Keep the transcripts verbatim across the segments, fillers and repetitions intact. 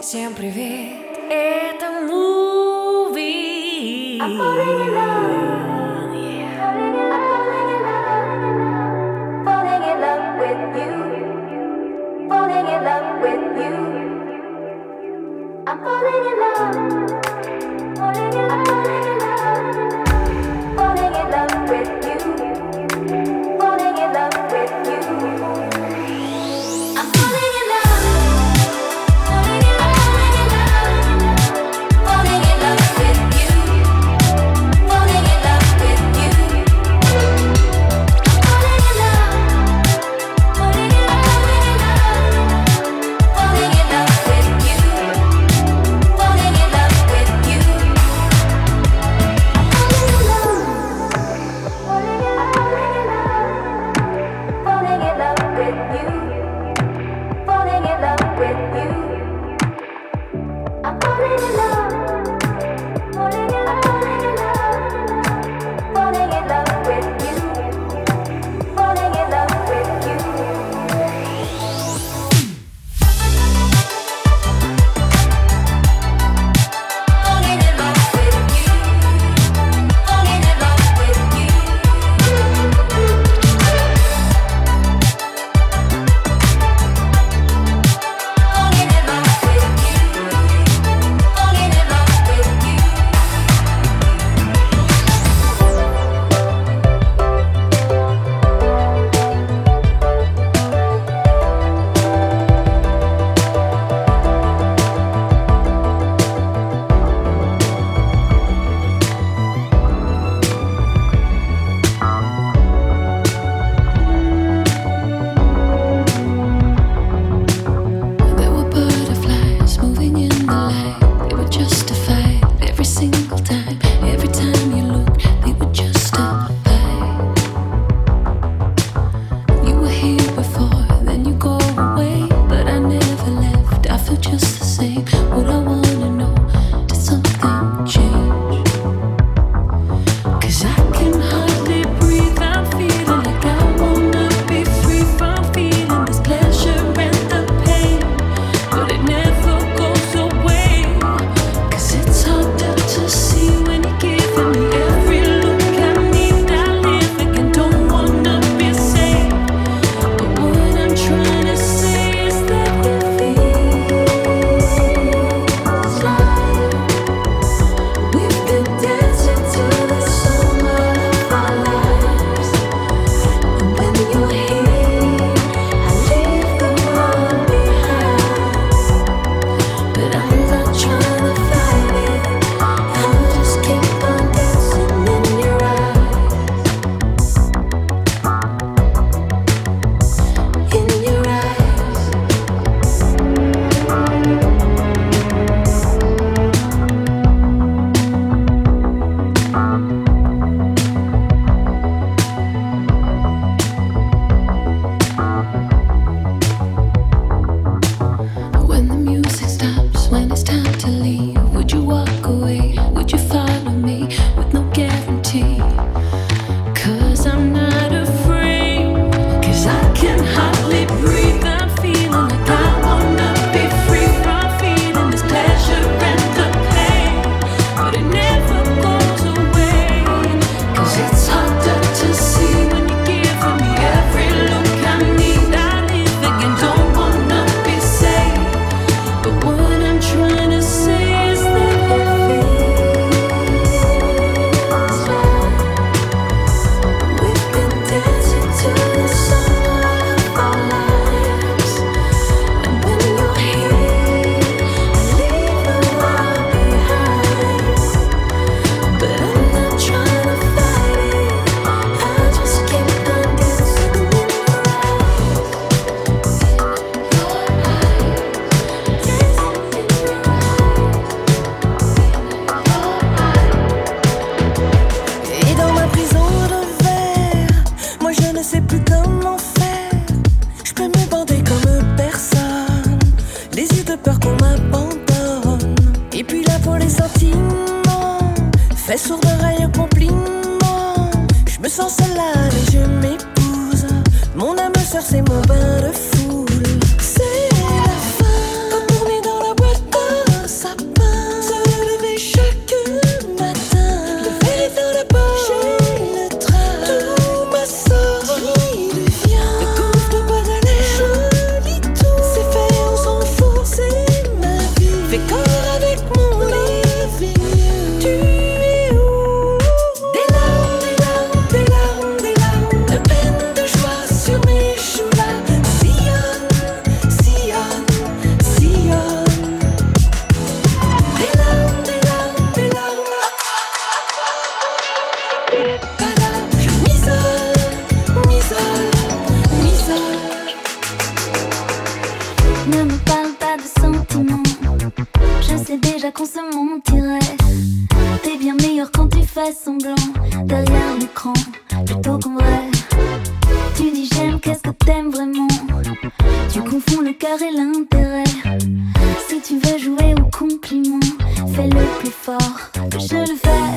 Всем привет, это Муви. I'm falling in love, yeah. Falling in love with you. Falling in love with you. I'm falling in love. Falling in love, falling in love. Falling in love with you. Falling in love with you. I'm falling in love. Fais sourd d'oreille au compliment. Je me sens seule là et je m'épouse. Mon âme sœur c'est mon bain de foule. C'est la fin quand on est dans la boîte. qu'on se mentirait. T'es bien meilleur quand tu fais semblant derrière l'écran, plutôt qu'en vrai. Tu dis j'aime, qu'est-ce que t'aimes vraiment? Tu confonds le cœur et l'intérêt. Si tu veux jouer au compliment, fais-le plus fort que je le fais.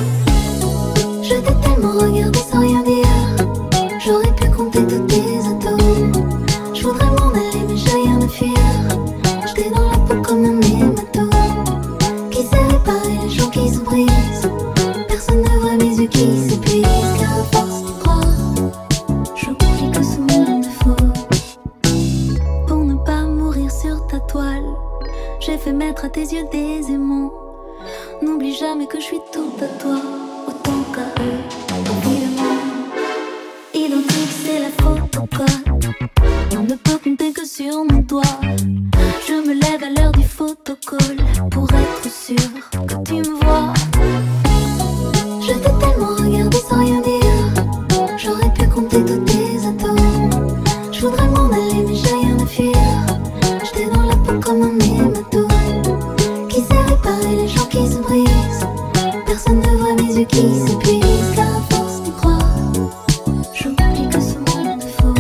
Je t'ai tellement regardé sans rien dire. J'aurais pu compter tous tes atomes. Je voudrais m'en aller mais j'ai rien à fuir. J'étais dans la peau comme un hématome qui sait réparer les gens qui se brisent. Personne ne voit mes yeux qui s'épuisent. Car à force de croire, j'oublie que ce monde est faux. Pour ne pas mourir sur ta toile, j'ai fait mettre à tes yeux des aimants. N'oublie jamais que je suis tout à toi, autant qu'à eux, évidemment. Identique, c'est la photocode. On ne peut compter que sur mon doigt. Je me lève à l'heure du photocall pour être sûr que tu me vois. Je t'ai tellement regardé sans rien dire. J'aurais pu compter tous tes atomes. Je voudrais m'en aller mais j'ai rien à fuir. J'étais dans la peau comme un hématome qui sait réparer les gens qui se brisent. Personne ne voit mes yeux qui s'épuisent. Car à force de croire, j'oublie que ce monde est faux.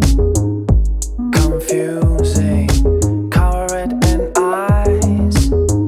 Confusing, cover it in eyes.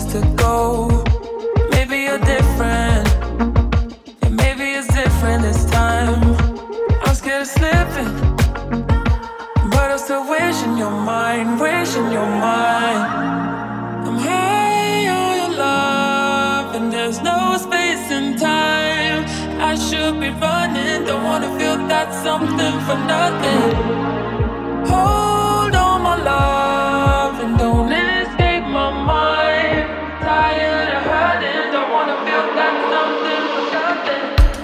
to go. Maybe you're different, yeah, maybe it's different this time. I'm scared of slipping, but I'm still wishing you're mine, wishing you're mine. I'm high on your love, and there's no space and time. I should be running, don't wanna feel that something for nothing. Hold on, my love, and don't escape my mind. Tired of hurting, don't wanna feel that something for nothing.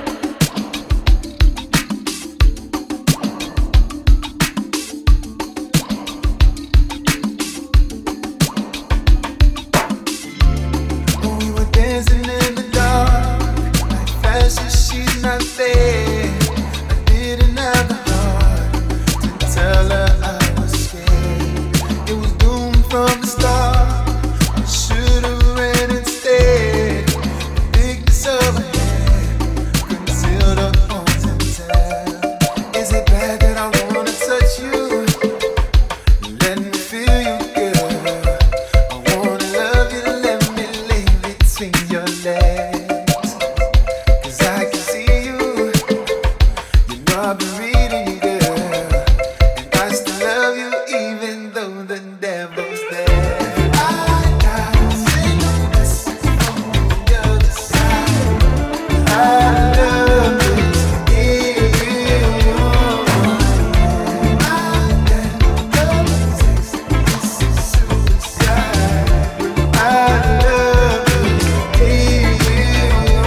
We were dancing in the dark, like flashes, she's not there. I didn't have the heart to tell her I was scared. It was doomed from the start. I should've ran instead. The bigness of her head concealed her arms and tell. Is it bad that I wanna touch you? Let me feel you, girl. I wanna love you, let me lay between your legs. 'Cause I can see you. You know I've been reading you, girl. And I still love you even though the devil's there. I got sickness from the other side. I love this in you. I got love sex, this is suicide. I love this in you.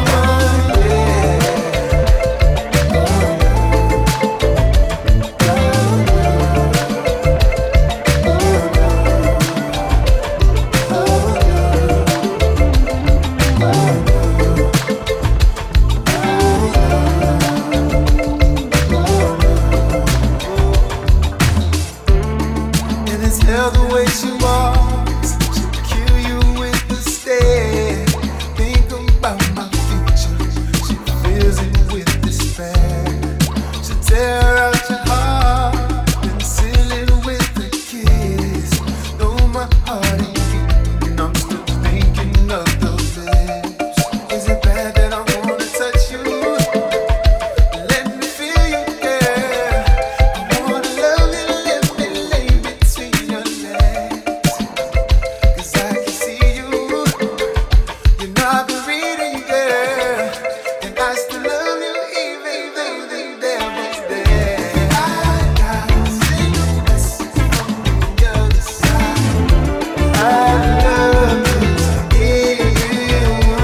And it's hell the way she walks. She'll kill you with the stare. Think about my future. She fills it with despair. She'll tear out your heart and seal it with a kiss. Though my heart ain't beating, I'm still thinking of those lips. Is it bad that I wanna touch you? Let me feel you, girl. I wanna love you, let me lay between your legs. 'Cause I can see you. You know I've been reading you, girl. And I still love you even though the devil's there. I got sickness from the other side. I love this in you.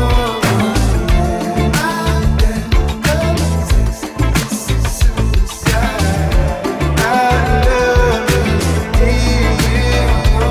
I got love sex, this is suicide. I love this in you.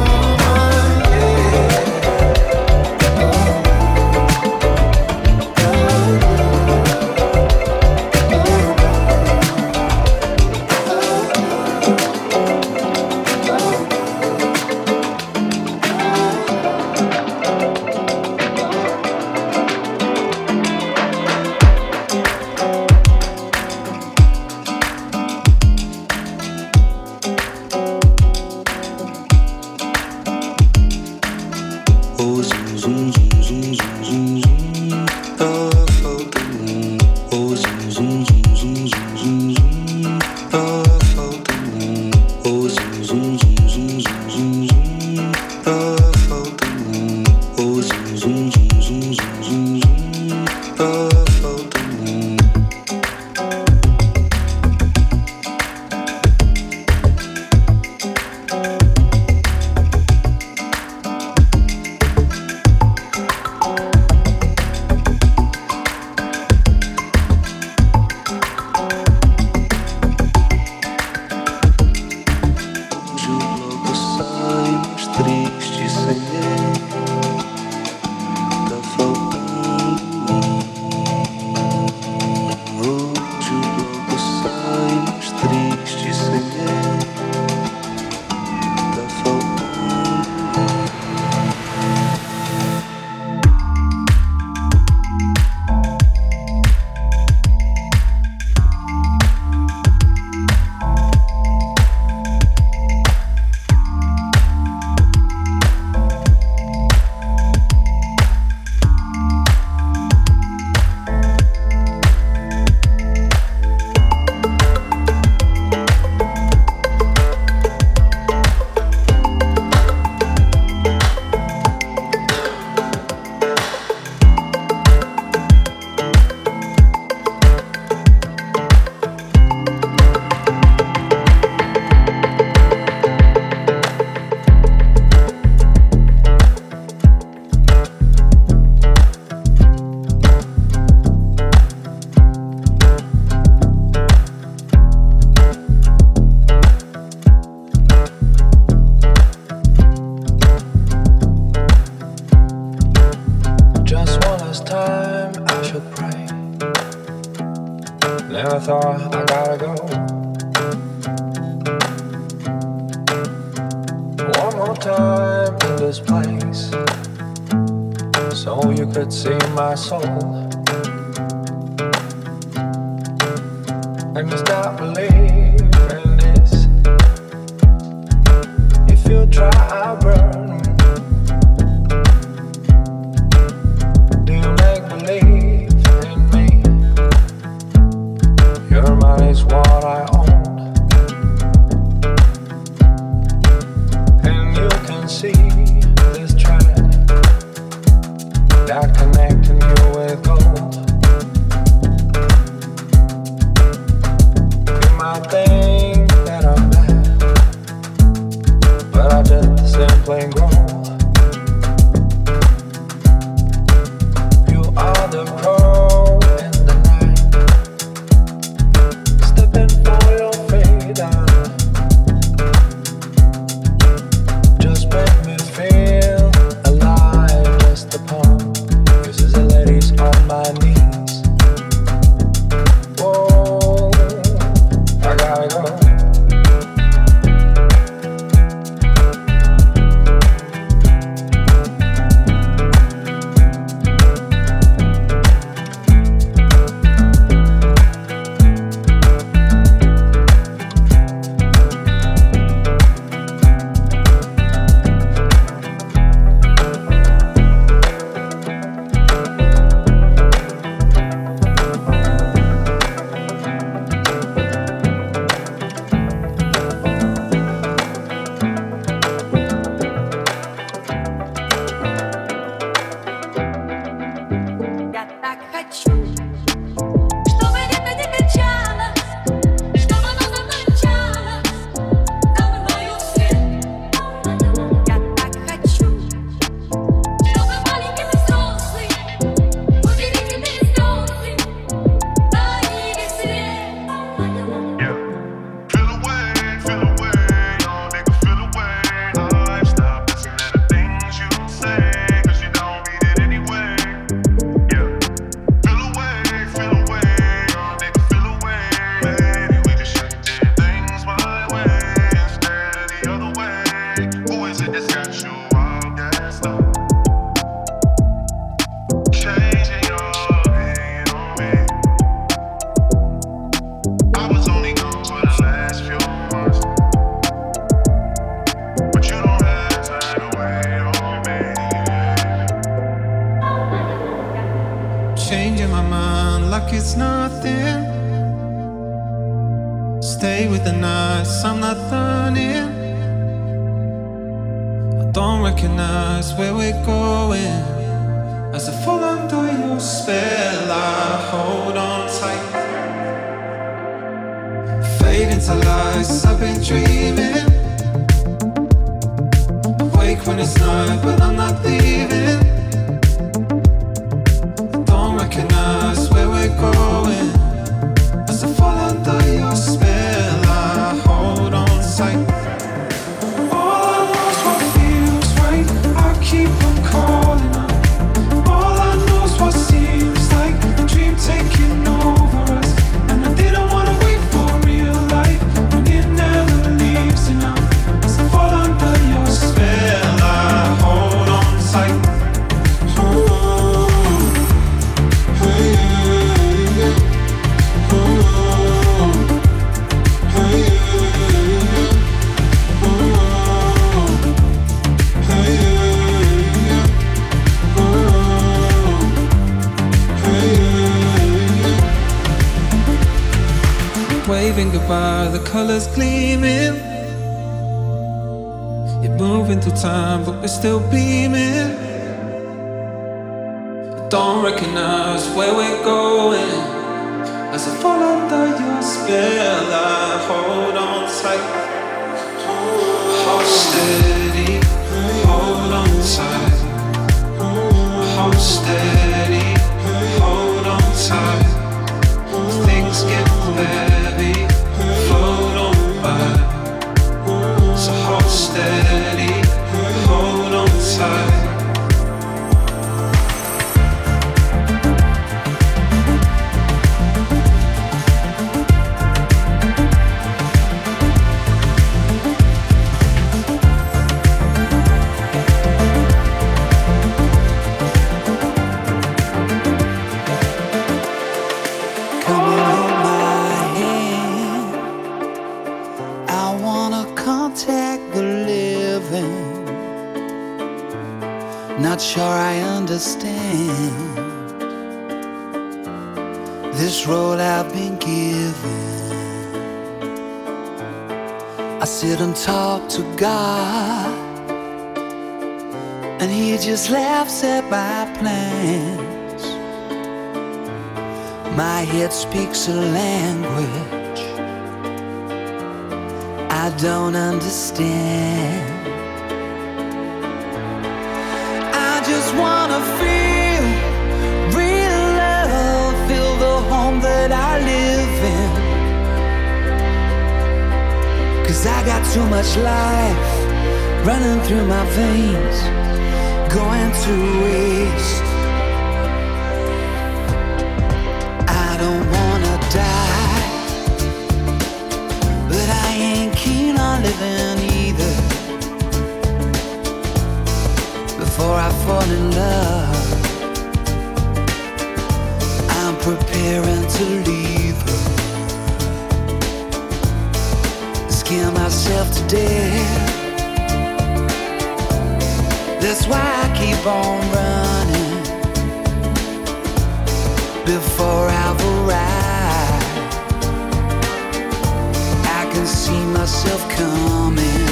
Oh, zum, zum, zum, zum, zum, zum, zum. Tá faltando. Oh, zum, zum, zum, zum, zum, zum, zum. Tá faltando. Oh, zum, zum, zum, zum, zum, zum, zum. Tá faltando. Oh, zum, zum, zum, zum, zum, zum, zum. Tá faltando. Hoje o bloco sai mais triste sem ele. Tá faltando. Hoje o bloco sai mais triste sem ele. Tá faltando. thought I gotta go. One more time in this place, so you could see my soul. And you stop believing this. If you try, I'll burn. Do you make believe in me? Your mind is what I own, and you can see this thread that connecting you with gold. You might think that I'm mad, but I just simply grow. You are the crow in the night, stepping for your freedom. Just make me feel alive, just upon you see the ladies on my knees. Whoa, I gotta go. Я так хочу, чтобы где-то не качалось, чтобы оно за мной мчалось, за мною вслед. Я так хочу, чтобы маленький ты взрослый, удивительные слезы на веселе. Feel away, feel away, oh nigga, feel away. I've stopped listening to the things you say, 'cause you don't mean it anyway. Yeah. Feel away, feel away, oh nigga, feel away. Maybe we just shouldn't do things my way instead of the other way. Who is it that's got you all gassed up? Changing your opinion on me. I was only gone for the last few months, but you don't have time to wait on me. Changing my mind like it's nothing. Stay with the nights, I'm not running. I don't recognize where we're going. As I fall under your spell, I hold on tight. Fade into lies, I've been dreaming. Awake when it's night, but I'm not leaving. Don't recognize where we're going. As I fall under your spell, I hold on tight. All I know is what feels right. I keep on calling on. All I know is what seems like a dream taking over us. And I didn't wanna wait for real life when it never leaves you now. As I fall under your spell, I hold on tight. Waving goodbye, the colors gleaming. You're moving through time, but we're still beaming. Don't recognize where we're going. As I fall under your spell, I hold on tight. Hold steady, hold on tight. Hold steady, hold on tight. Things get heavy, float on by. So hold steady, hold on tight. Not sure I understand this role I've been given. I sit and talk to God, and He just laughs at my plans. My head speaks a language I don't understand. I just wanna feel real love, feel the home that I live in. 'Cause I got too much life running through my veins, going to waste. I don't wanna die, but I ain't keen on living either. Before I fall in love, I'm preparing to leave her. Scare myself to death. That's why I keep on running. Before I've arrived, I can see myself coming.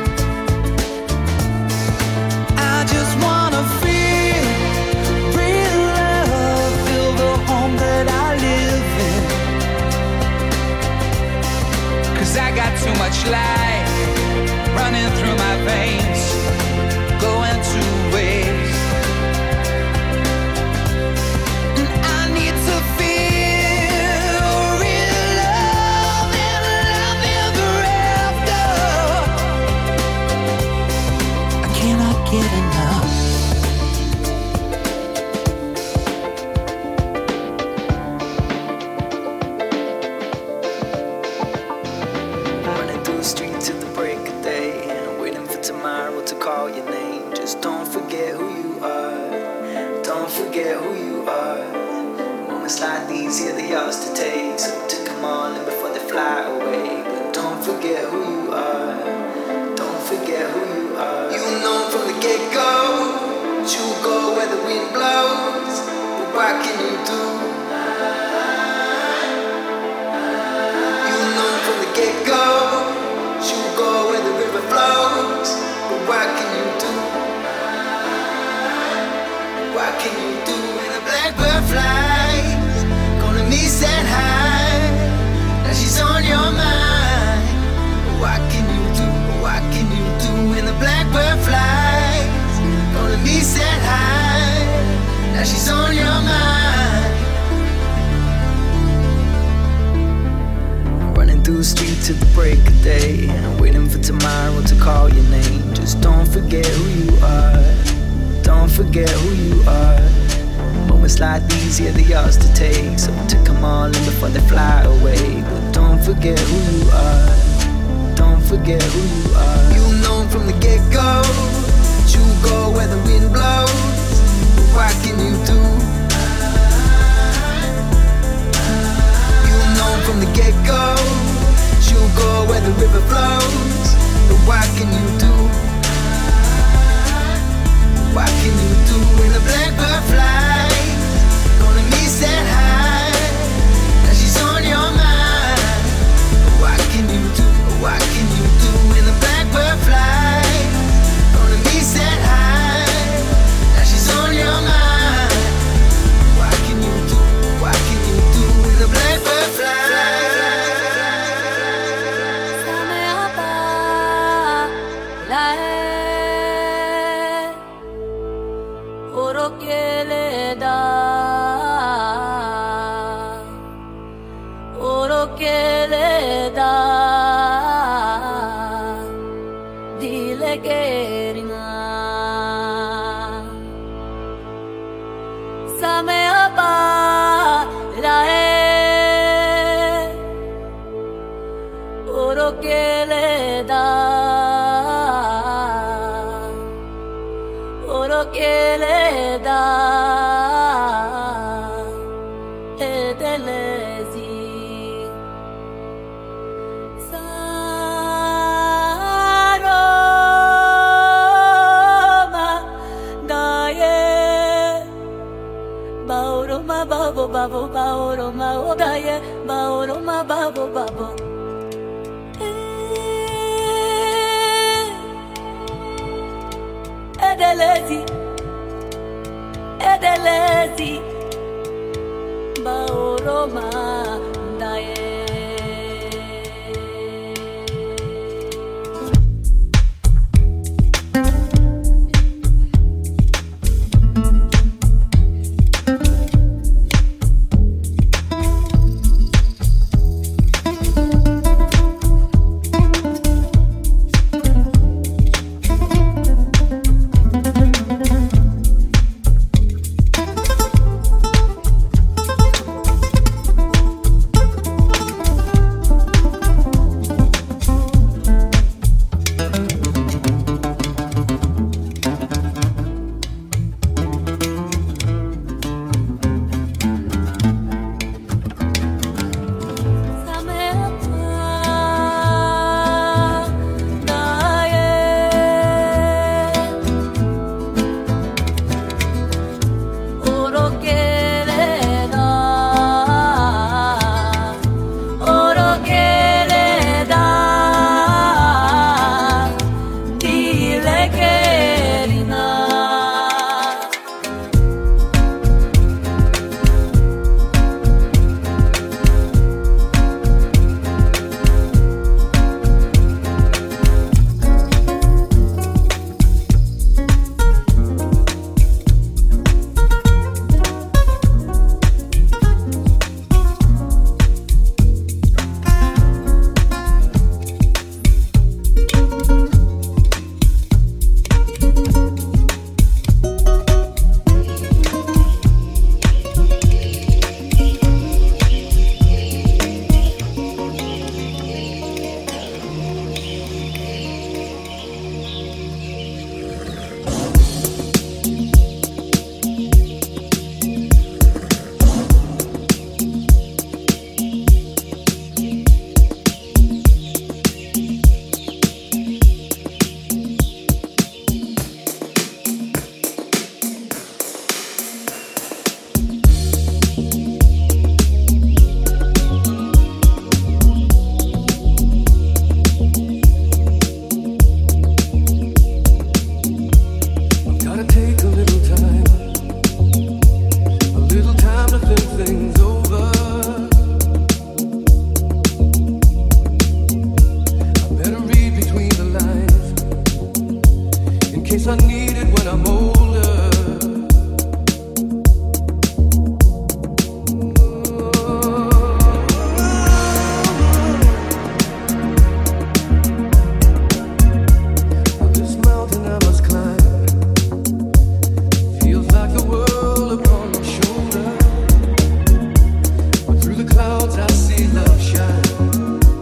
I just wanna feel real love, feel the home that I live in. 'Cause I got too much life running through my veins, going to waste. And I need to feel real love and love ever after. I cannot get enough. Running through the street till the break of day, waiting for tomorrow to call your name. Just don't forget who you are. Don't forget who you are. Moments like these, yeah, they yours to take. So take them all in before they fly away. But don't forget who you are. Don't forget who you are. You know from the get-go, you go where the wind blows. But what can you do? You know from the get-go, you go where the river flows. But what can you do? What can you do when a blackbird flies? Gonna miss that high. Now she's on your mind. What can you do? What can you do when the blackbird flies? Gonna miss that high. Now she's on your mind. Running through the street till the break of day, waiting for tomorrow to call your name. Just don't forget who you are. Don't forget who you are. Moments like these, yeah, they're yours to take. So take them all in before they fly away. But don't forget who you are. Don't forget who you are. You know from the get-go, you go where the wind blows. But what can you do? You know from the get-go, you go where the river flows. But what can you do? What can you do when the blackbird flies? Gonna miss that high. Now she's on your mind. What can you do? What can you do when the blackbird flies? Gonna miss that high. Now she's on your mind. What can you do? What can you do when the blackbird flies? Da babo baoro ma ogaye baoro ma babo babo. Edelezi, Edelezi, baoro ma daye.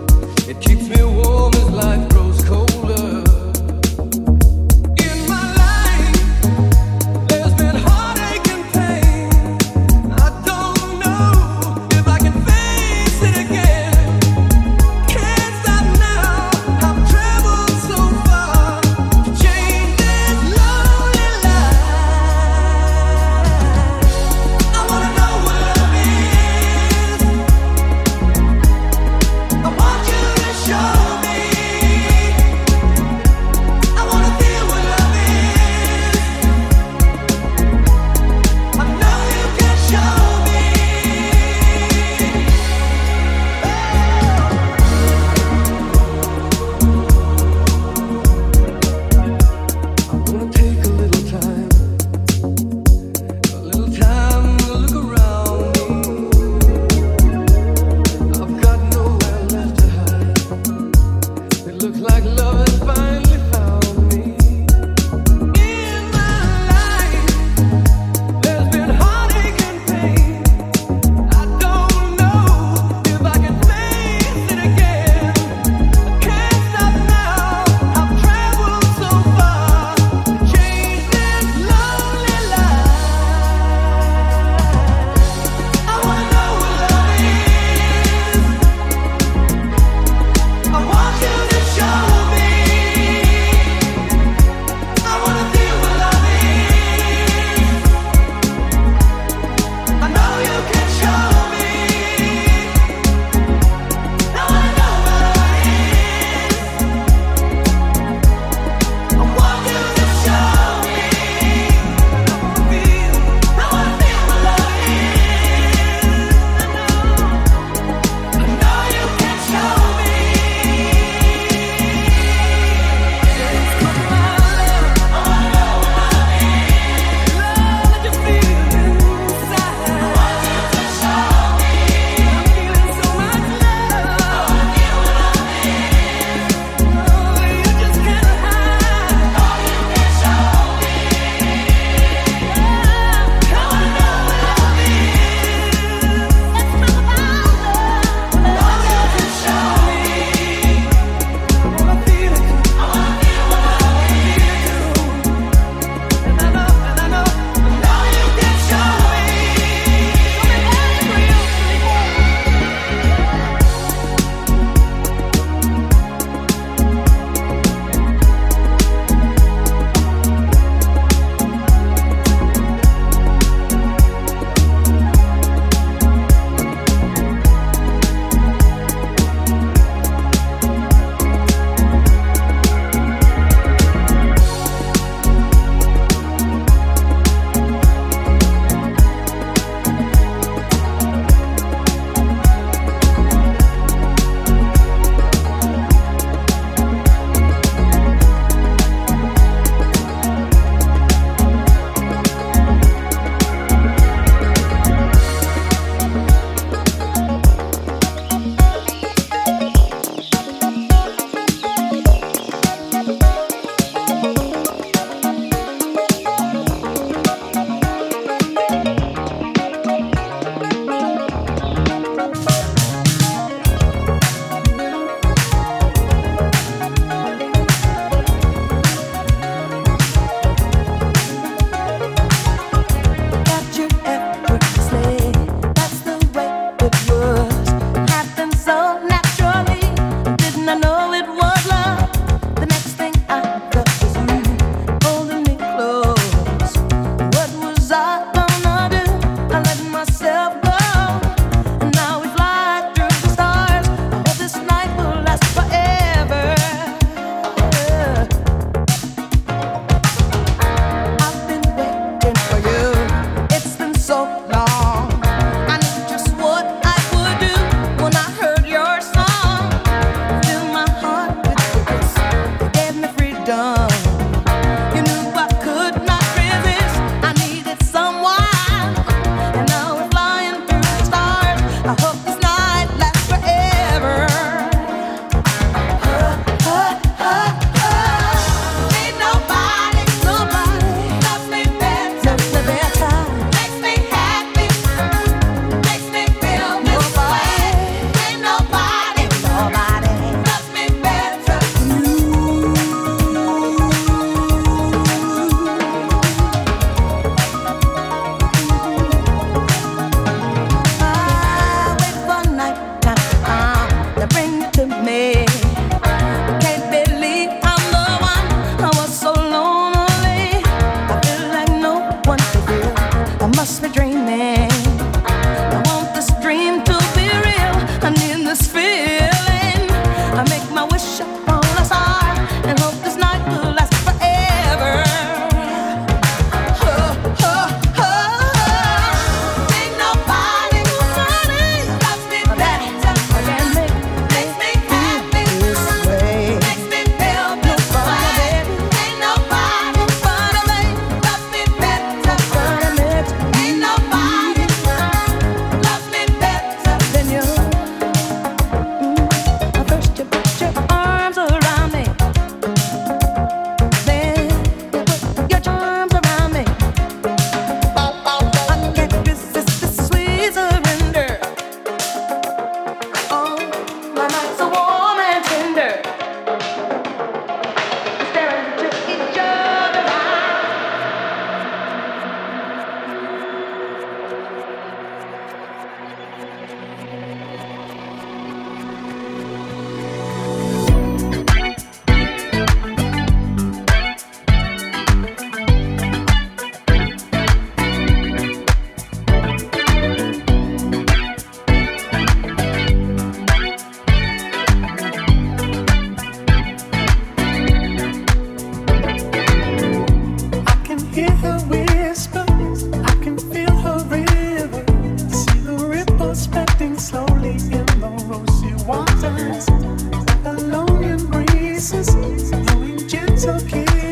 Keeps me warm as life grows colder. In my life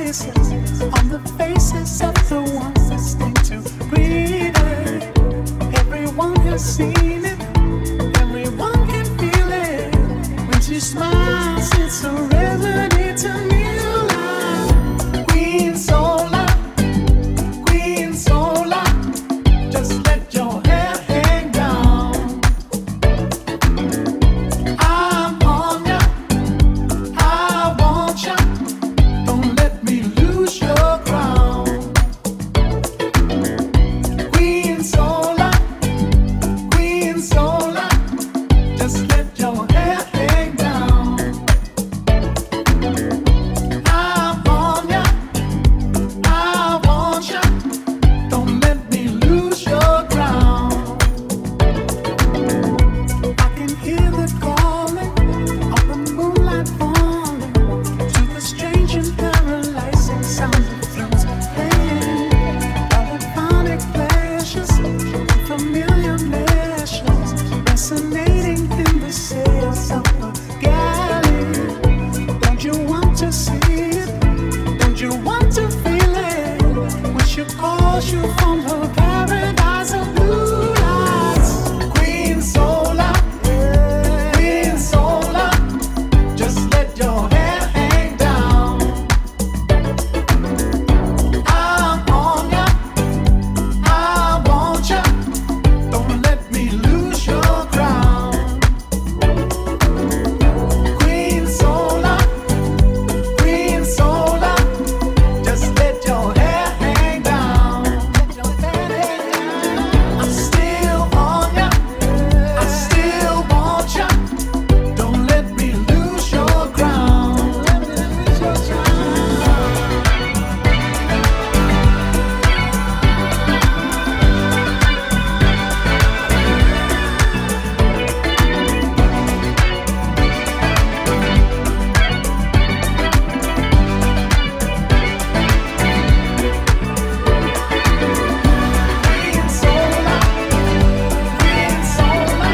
traces on the faces of the ones destined to breathe it. Everyone has seen it, everyone can feel it. When she smiles, it's a remedy to new life. Queen Sola, Queen Sola, just let your hair hang down. I'm on ya, I want ya, don't let me lose your crown. Queen Sola, Queen Sola, just let your hair hang down. I'm on ya, I want ya, don't let me lose your crown. I can hear the calling of the moonlight falling to the strange and paralyzing sound of flutes playing. Polyphonic pleasures, familiar measures, resonating in the sails of the galley. Don't you want to see it? Don't you want to feel it? When she calls you from her paradise of blue lights. Queen Sola, Queen Sola, just let your hair hang down. I'm on ya, I want ya, don't let me lose your crown. Queen Sola, Queen Sola, just let your hair hang down. I'm still on ya, I still want ya, don't let me lose your crown. Queen Sola, Queen Sola,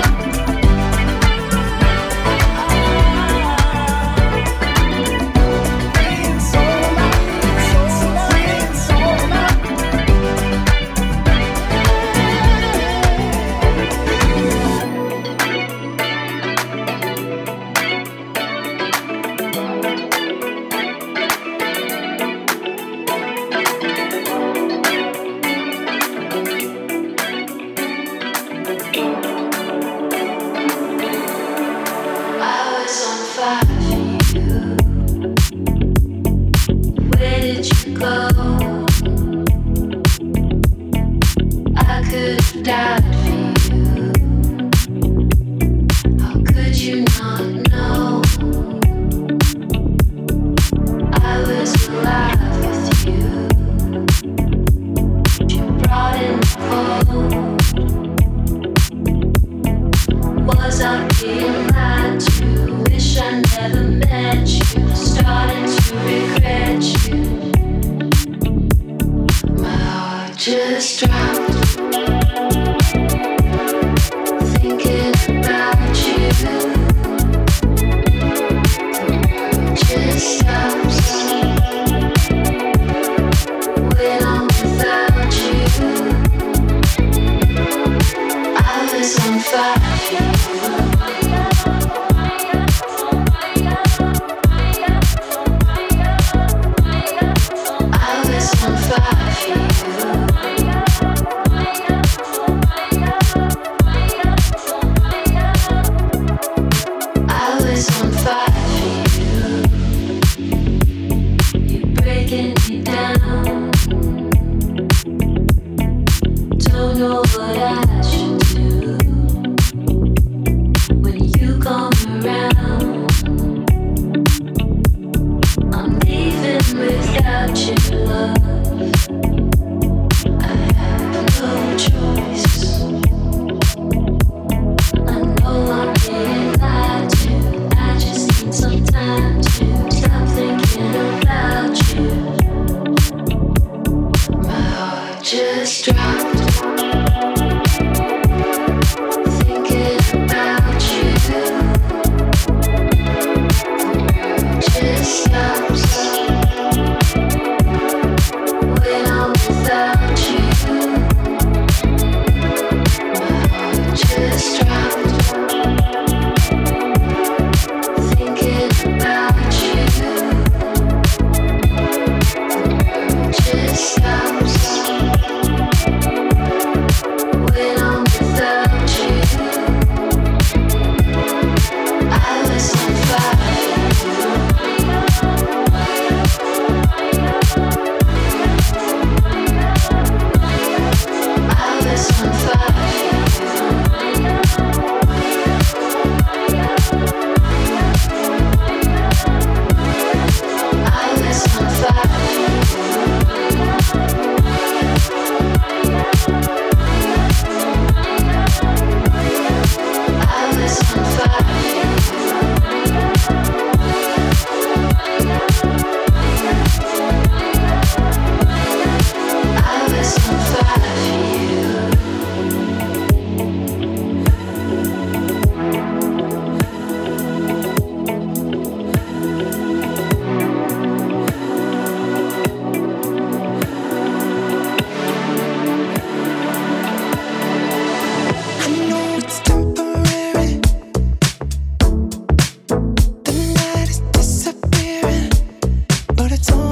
Queen Sola, Queen Sola. I was on fire for you. Where did you go? I could have died for you. How could you not know? I was alive with you. You brought in the cold. Was I being lied to? Wish I never met you. Starting to regret you. My heart just dropped. Thinking about you. Just stops when I'm without you. I was on fire. I was on fire for you. I was on fire for you. You're breaking me down. Don't know what I should do when you come around. I'm leaving without your love. I have no choice. I know I'm being lied to. I just need some time to stop thinking about you. My heart just dropped. Thinking about you. Just stops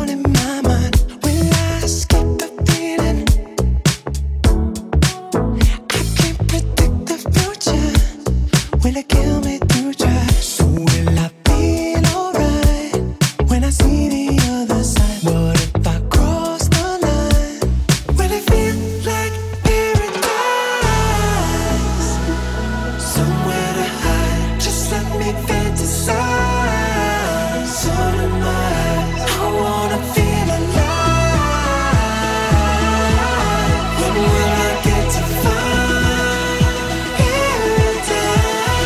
all in my mind. Will I escape the feeling? I can't predict the future. Will it kill me through try? So will I feel alright when I see the other side? What if I cross the line? Will it feel like paradise? Somewhere to hide, just let me fantasize. All in my eyes, I wanna feel alive. When will I get to find paradise?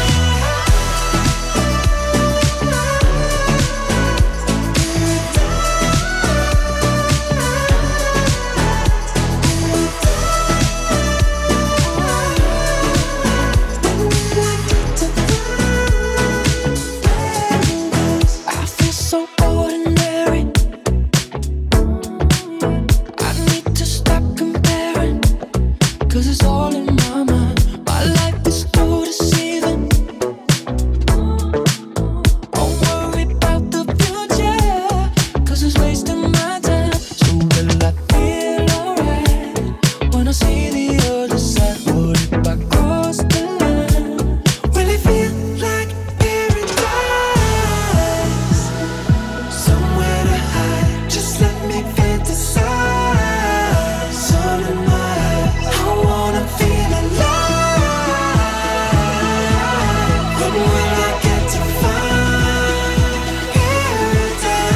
I feel so ordinary. I need to stop comparing, 'cause it's all in my mind. My life is too deceiving. Don't worry about the future, 'cause it's wasting my time. So will I feel alright when I see the other side? What if I cross the line? Will it feel like paradise? Somewhere to hide, just let me fantasize. All in my eyes, I wanna feel alive. When will I get to find paradise?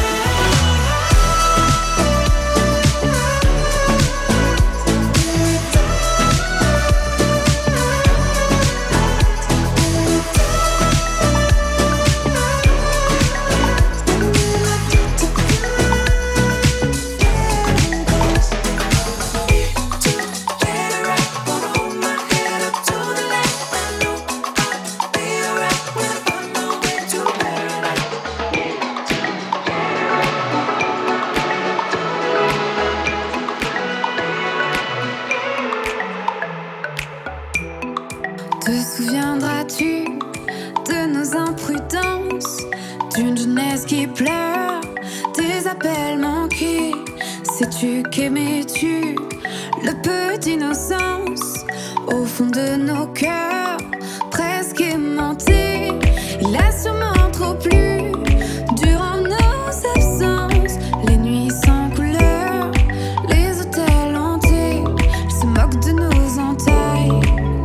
Te souviendras-tu de nos imprudences, d'une jeunesse qui pleure, des appels manqués? Sais-tu qu'aimais-tu le peu d'innocence au fond de nos cœurs, presque aimantés? Il a sûrement trop plu durant nos absences, les nuits sans couleur, les hôtels hantés. Il se moque de nos entailles,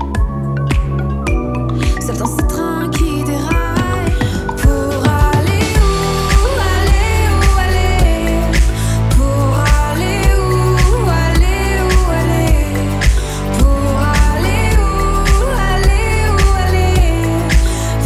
seul dans ce train qui déraille. Pour aller où, aller où, aller? Pour aller où, aller où, aller? Pour aller où, aller où, aller?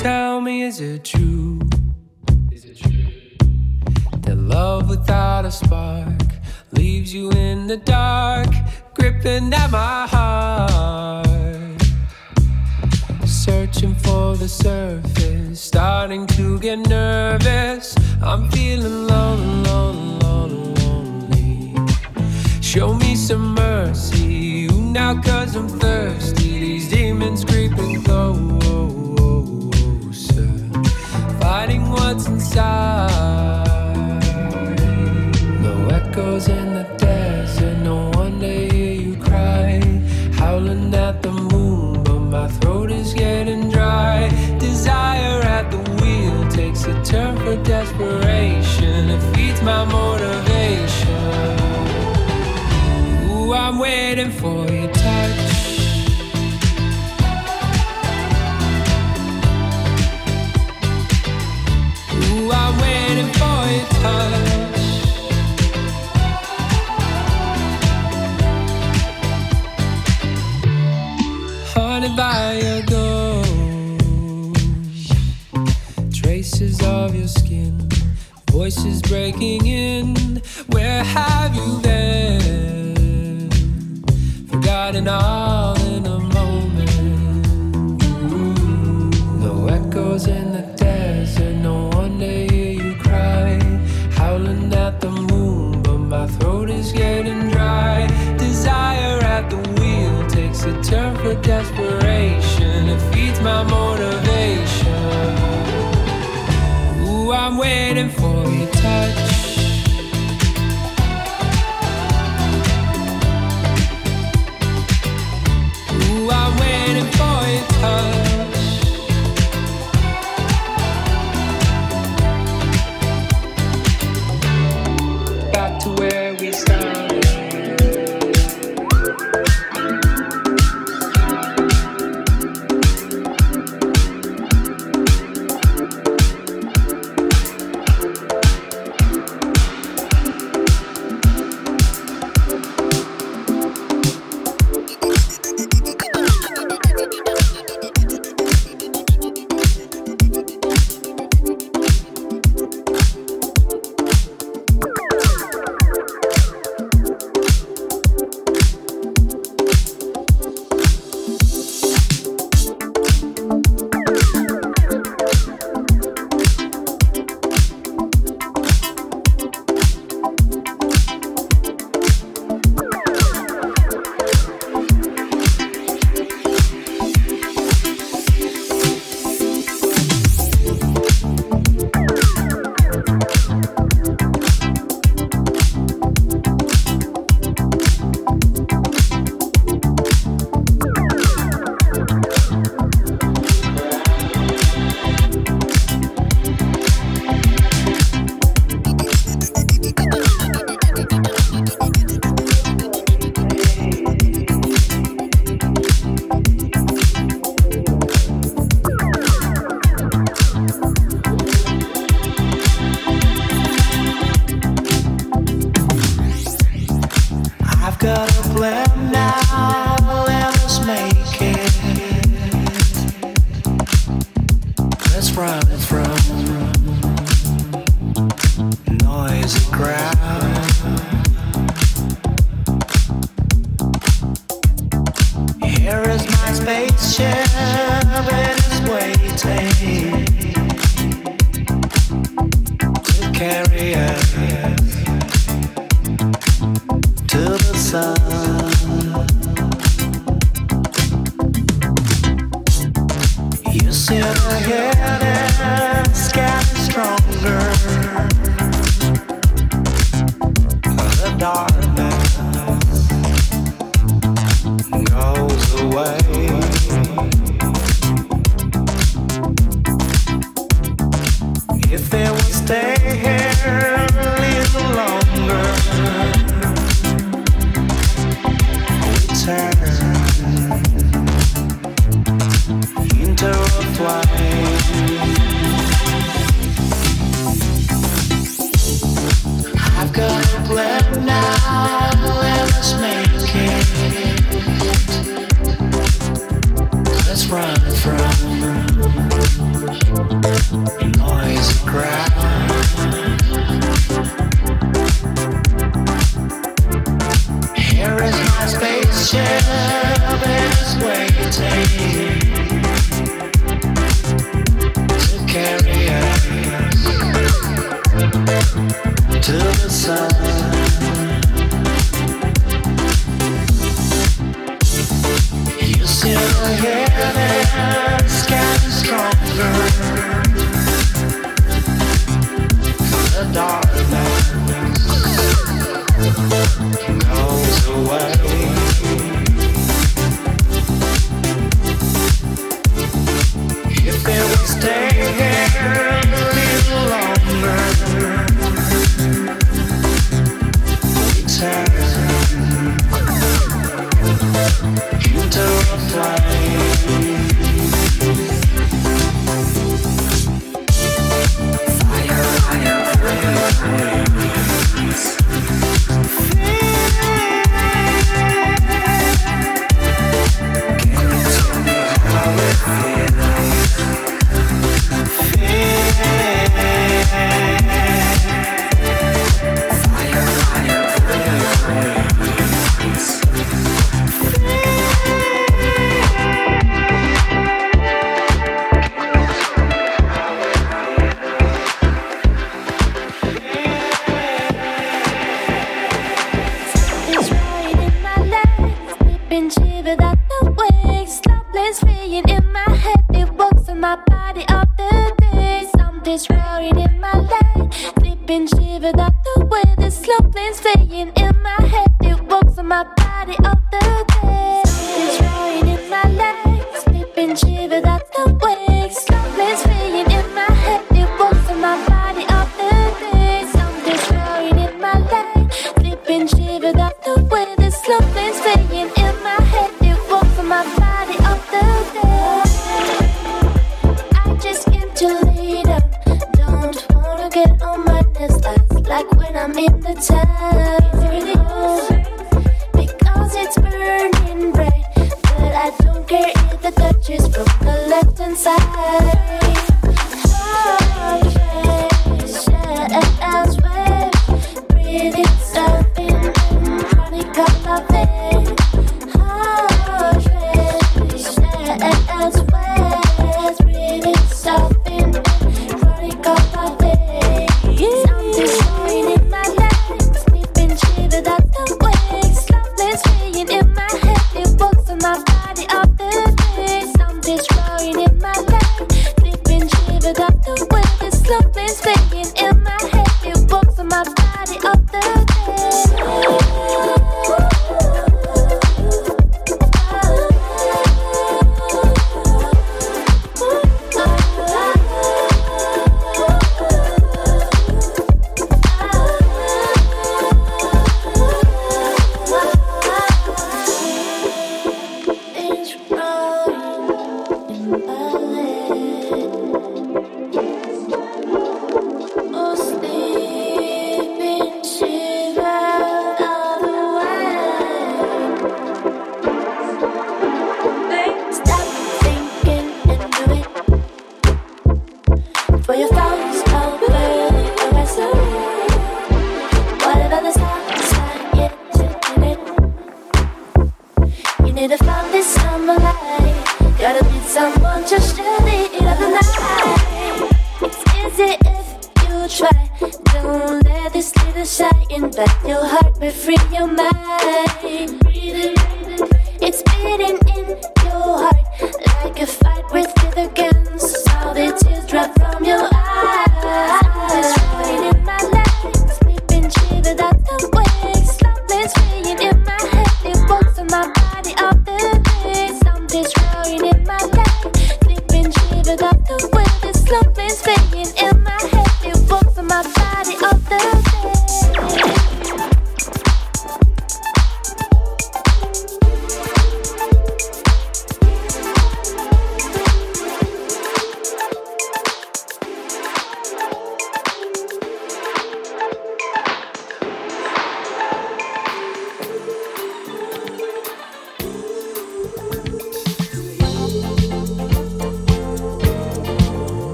tell me, is it true? Is it true? That love without a spark leaves you in the dark, gripping at my heart. Searching for the surface, starting to get nervous. I'm feeling lonely, lonely, lonely, lonely. Show me some mercy, you now, 'cause I'm thirsty. These demons creeping closer, fighting what's inside. No echoes in the desert, no one to hear you cry. Howling at the moon, but my throat is getting dry. Desire at the wheel takes a turn for desperation. It feeds my motivation. Ooh, I'm waiting for your touch. Ooh, I'm waiting for your touch. Haunted by your ghost, traces of your skin, voices breaking in. Where have you been? Forgotten all in a moment. Ooh, no echoes in the desert, no one to hear you cry. Howling at the moon, but my throat is getting dry. Desire at the wheel takes a turn for desperation. It feeds my motivation. Ooh, I'm waiting for your touch. Ooh, I'm waiting for your touch. Back to where we started.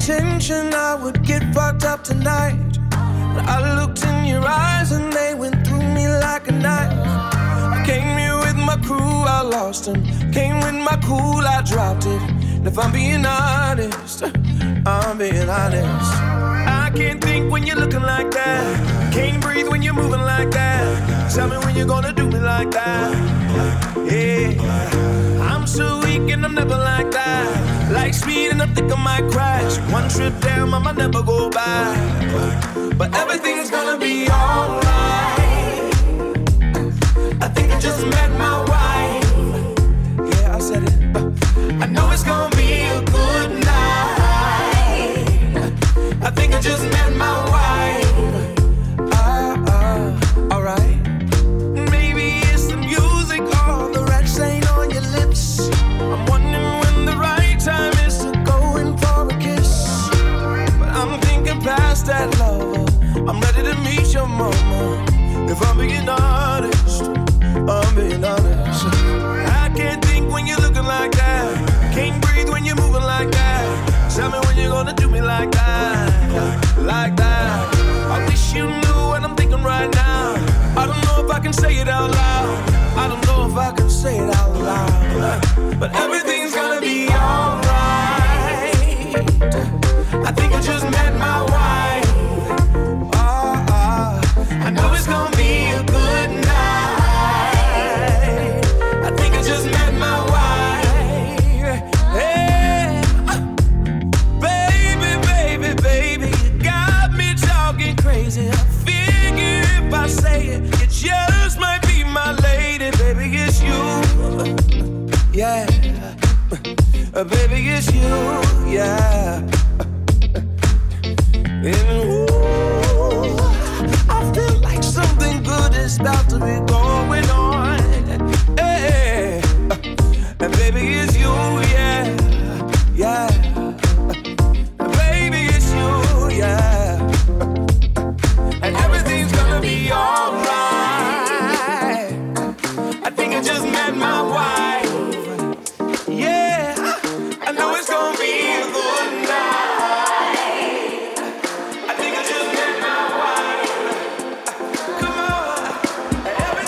intention I would get fucked up tonight. But I looked in your eyes and they went through me like a knife. I came here with my crew, I lost them. Came with my cool, I dropped it. And if I'm being honest, I'm being honest. I can't think when you're looking like that. Can't breathe when you're moving like that. Tell me when you're gonna do me like that. Yeah, I'm so weak and I'm never like that. Like speed and I think I might crash. One trip down, I might never go back. But everything's gonna be alright. I think I just met my wife. Yeah, I said it. I know it's gonna be a good night. I think I just met my wife. Ah, uh, alright. Maybe it's the music or the red stain on your lips. I'm wondering when the right time is to go in for a kiss. But I'm thinking past that, lover. I'm ready to meet your mama. If I'm being honest, I'm being honest. I can't think when you're looking like that. Can't breathe when you're moving like that. Tell me when you're gonna do me like that, like that. I wish you knew what I'm thinking right now. I don't know if I can say it out loud. I don't know if I can say it out loud. But everything's gonna be alright. I think I just met my wife. Ah, ah, I know it's gonna be a good night. I think I just met my wife. Hey, baby, baby, baby, you got me talking crazy. I figure if I say it, it just might be my lady. Baby, it's you. Yeah, baby, it's you. Yeah. And ooh, I feel like something good is about to be going on. Hey, and baby, it's you, yeah, yeah. Baby, it's you, yeah. And everything's gonna be alright. I think I just met my wife. Yeah, I know it's gonna be a good night. I think I just met my wife. Come on, everything's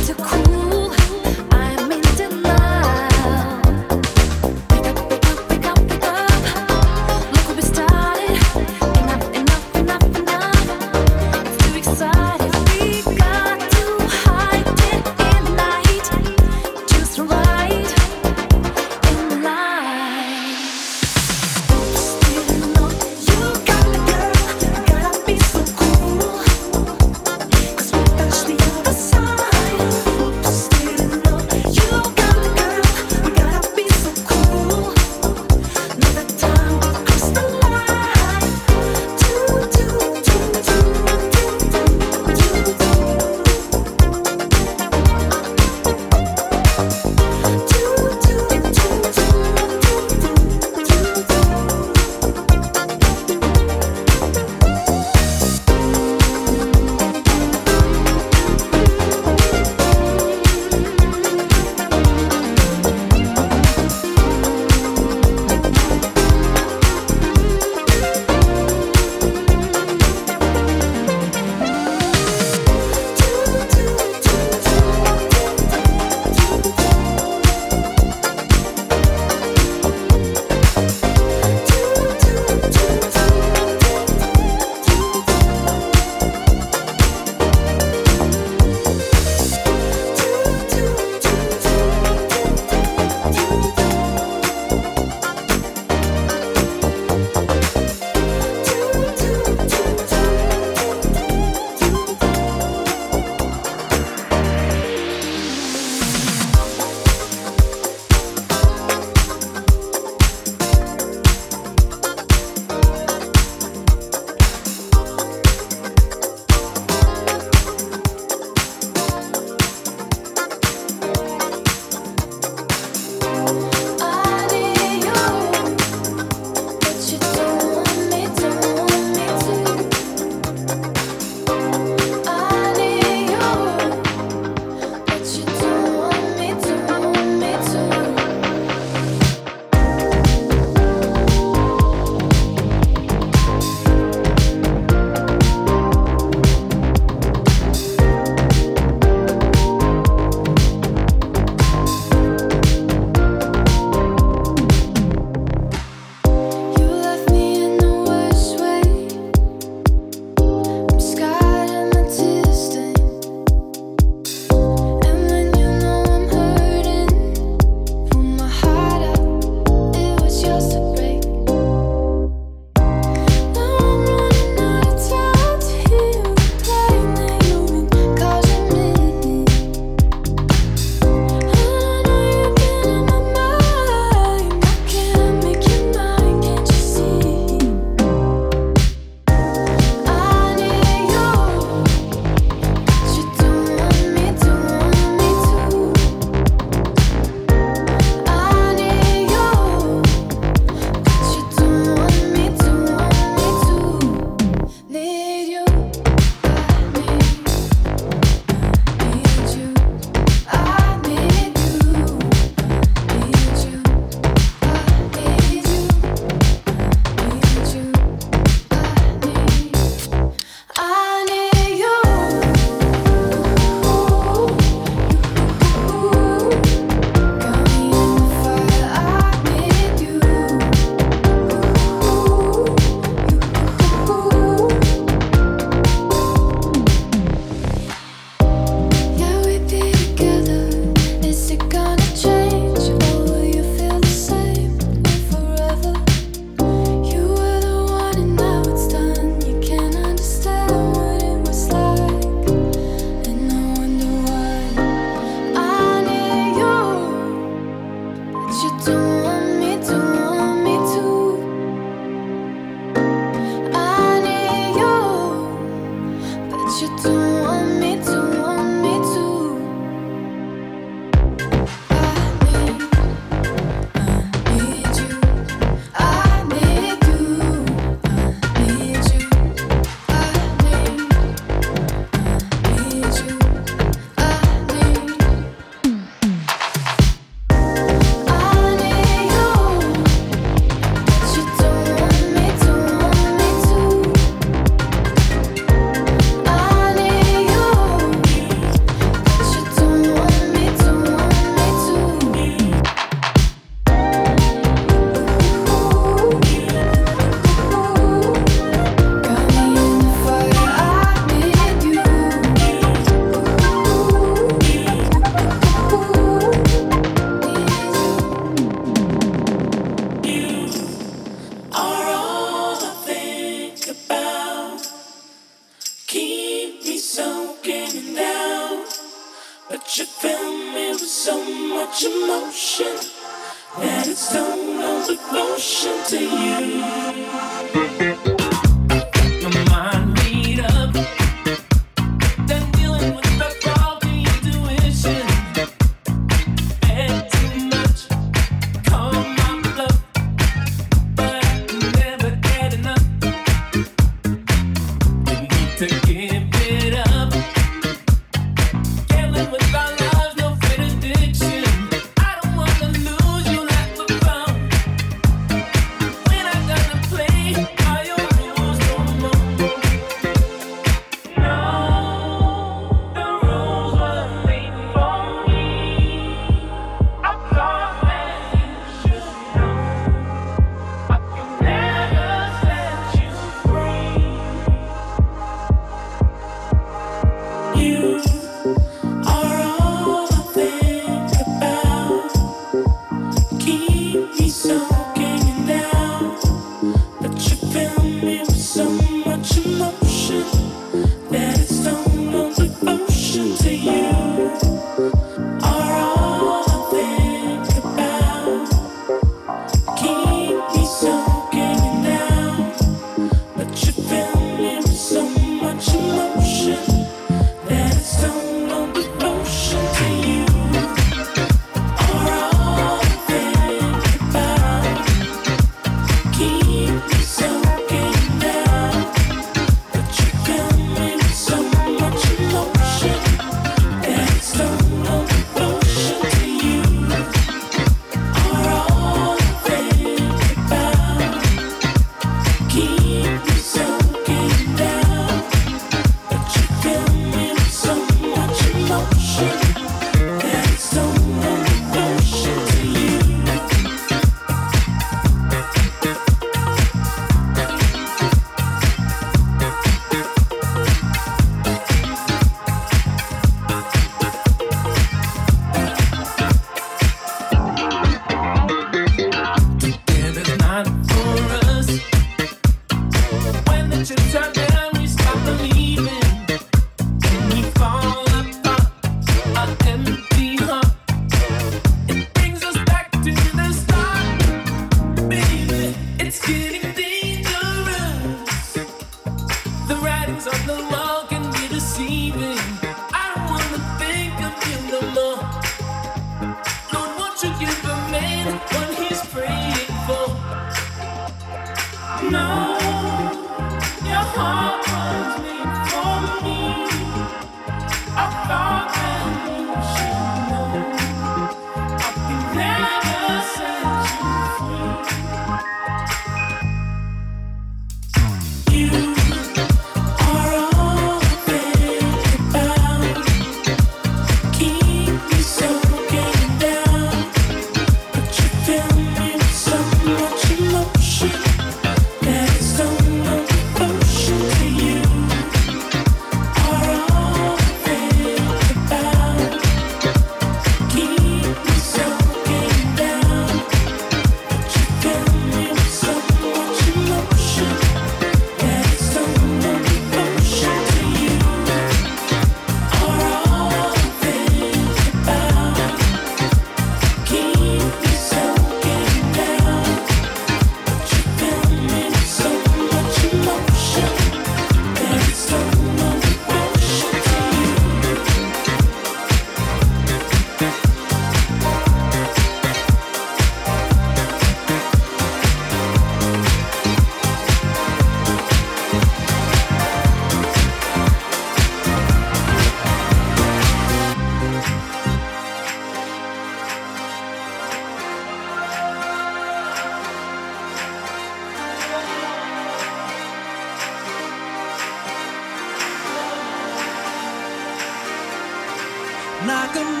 Knock 'em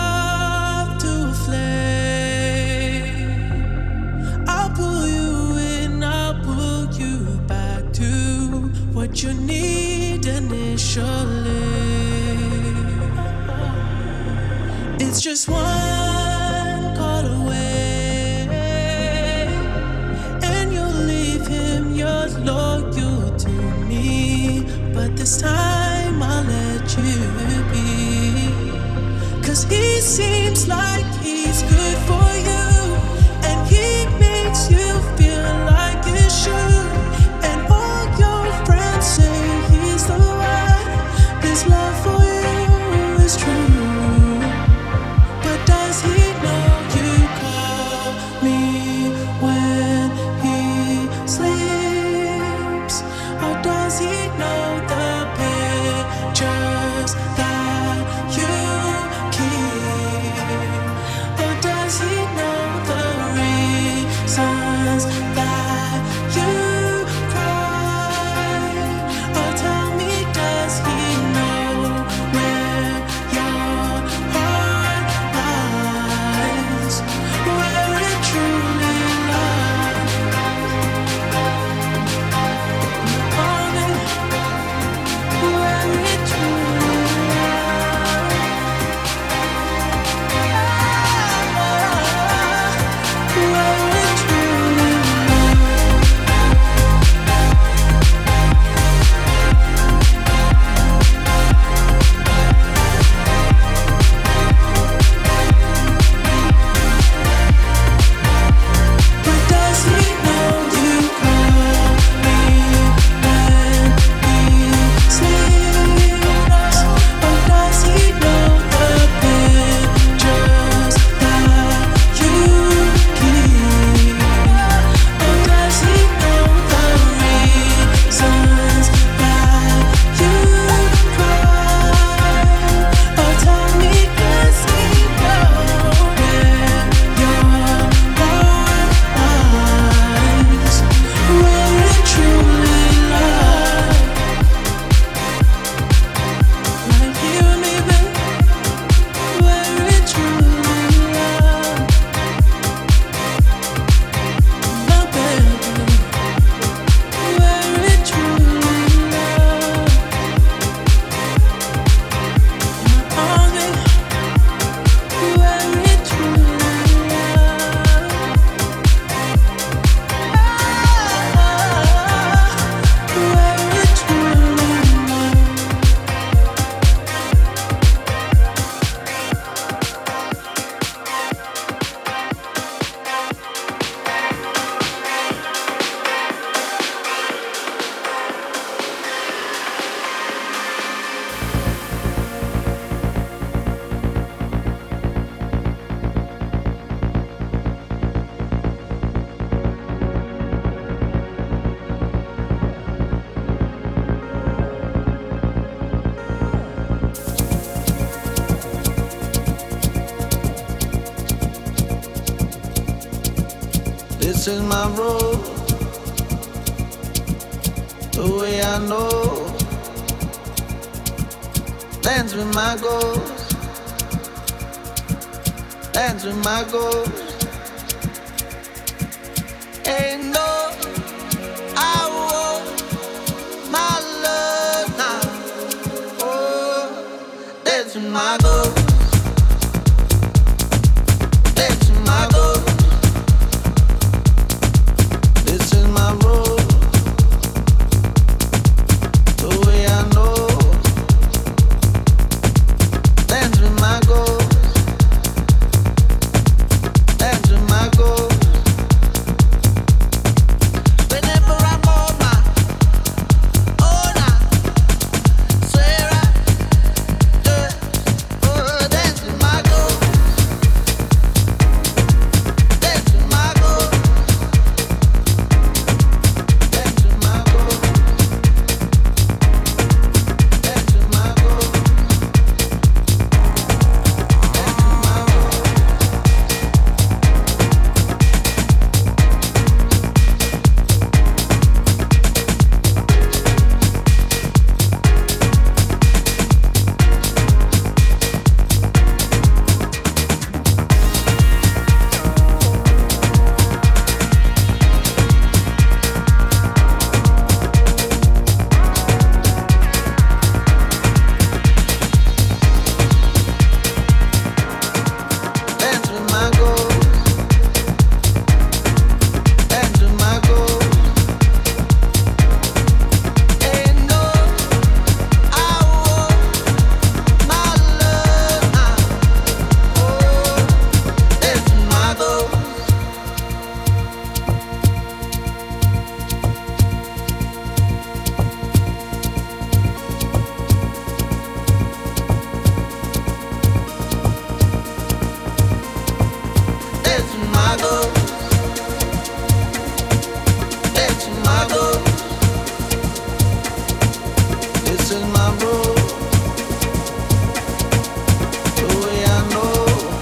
off to a flame. I'll pull you in, I'll pull you back to what you need initially. It's just one call away, and you'll leave him, you're loyal to me. But this time I'll let you be. Cause he seems like he's good for you, and he makes you feel This is my road, the way I know. Dance with my ghost, dance with my ghost. Ain't no I want my love now. Oh, dance with my ghost, dance with my ghost. This is my road, the way I know. Dance with my ghost, dance with my ghost. Whenever I'm on my own, I swear I do. Oh, dance with my ghost, dance with my ghost, dance with my ghost, dance with my ghost. Dance with my ghost, dance with my ghost. Ain't no I want my love now. Oh, dance with my ghost. Dance with my ghost, dance with my ghost. This is my road, the way I know.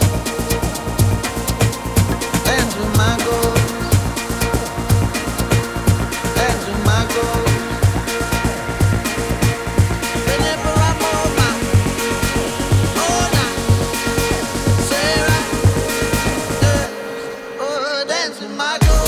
Dance with my ghost, dance with my ghost. Whenever I'm on my own, I swear I do. Oh, dance with my ghost.